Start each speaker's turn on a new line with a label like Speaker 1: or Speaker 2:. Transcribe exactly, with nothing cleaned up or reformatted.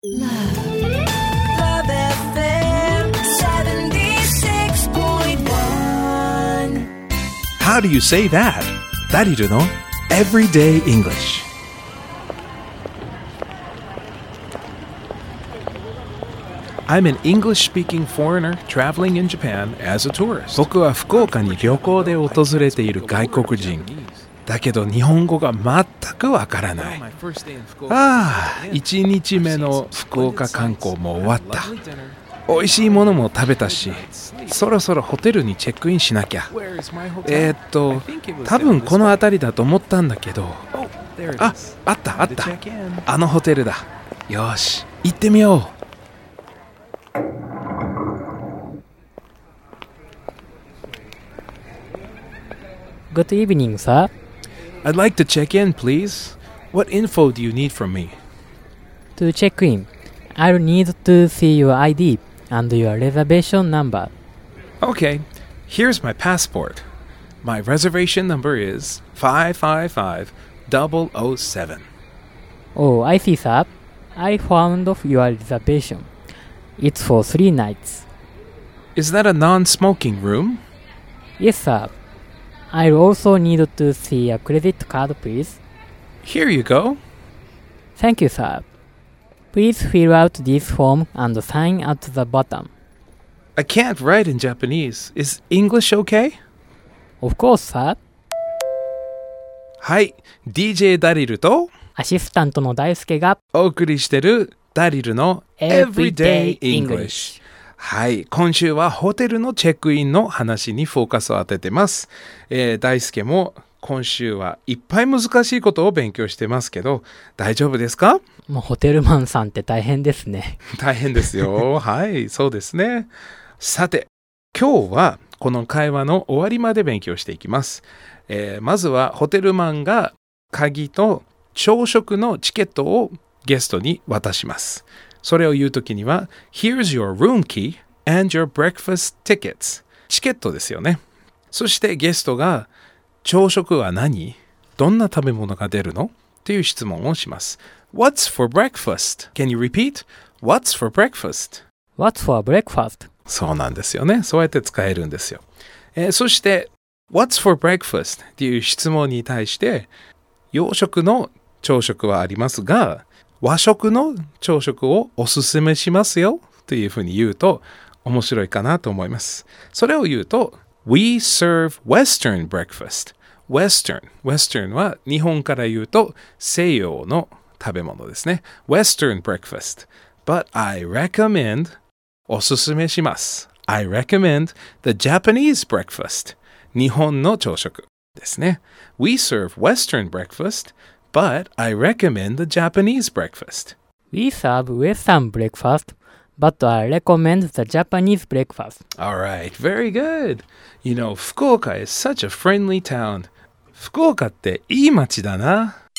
Speaker 1: Love, Love エフエム seventy-six point one.
Speaker 2: How do you say that? ダリルの Everyday English. I'm an English-speaking foreigner traveling in Japan as a tourist. 僕は福岡に旅行で訪れている外国人。だけど日本語が全くわからない。ああ、いちにちめの福岡観光も終わった。美味しいものも食べたし、そろそろホテルにチェックインしなきゃ。えー、っと、多分この辺りだと思ったんだけど。あ、あったあった。あのホテルだ。よし、行ってみよう。
Speaker 3: Good evening, sir.
Speaker 2: I'd like to check in, please. What info do you need from me?
Speaker 3: To check in, I'll need to see your I D and your reservation number.
Speaker 2: Okay, here's my passport. My reservation number is five five five zero zero seven.
Speaker 3: Oh, I see, sir. I found your reservation. It's for three nights.
Speaker 2: Is that a non-smoking room?
Speaker 3: Yes, sir. I'll also need to see a credit card, please.
Speaker 2: Here you go.
Speaker 3: Thank you, sir. Please fill out this form and sign at the bottom.
Speaker 2: I can't write in Japanese. Is English okay?
Speaker 3: Of course, sir.
Speaker 2: はい、ディージェー ダリルと
Speaker 3: アシスタントの大輔が
Speaker 2: お送りしてるダリルの Everyday English。はい、今週はホテルのチェックインの話にフォーカスを当ててます。えー、大輔も今週はいっぱい難しいことを勉強してますけど、大丈夫ですか？
Speaker 3: もうホテルマンさんって大変ですね。
Speaker 2: 大変ですよ。はい、そうですね。さて、今日はこの会話の終わりまで勉強していきます。えー、まずはホテルマンが鍵と朝食のチケットをゲストに渡します。それを言うときには Here's your room key and your breakfast tickets チケットですよね。そしてゲストが朝食は何？どんな食べ物が出るの？っていう質問をします。What's for breakfast? Can you repeat? What's for breakfast?
Speaker 3: What's for breakfast?
Speaker 2: そうなんですよね。そうやって使えるんですよ。えー、そして What's for breakfast? っていう質問に対して洋食の朝食はありますが和食の朝食をおすすめしますよというふうに言うと面白いかなと思います。それを言うと We serve Western breakfast. Western. Western は日本から言うと西洋の食べ物ですね。Western breakfast. But I recommend おすすめします。I recommend the Japanese breakfast. 日本の朝食ですね。We serve Western breakfast.But I recommend the Japanese breakfast.
Speaker 3: We serve Western breakfast, but I recommend the Japanese breakfast.
Speaker 2: All right, very good. You know, 福岡 is such a friendly town. 福岡っていい街だな。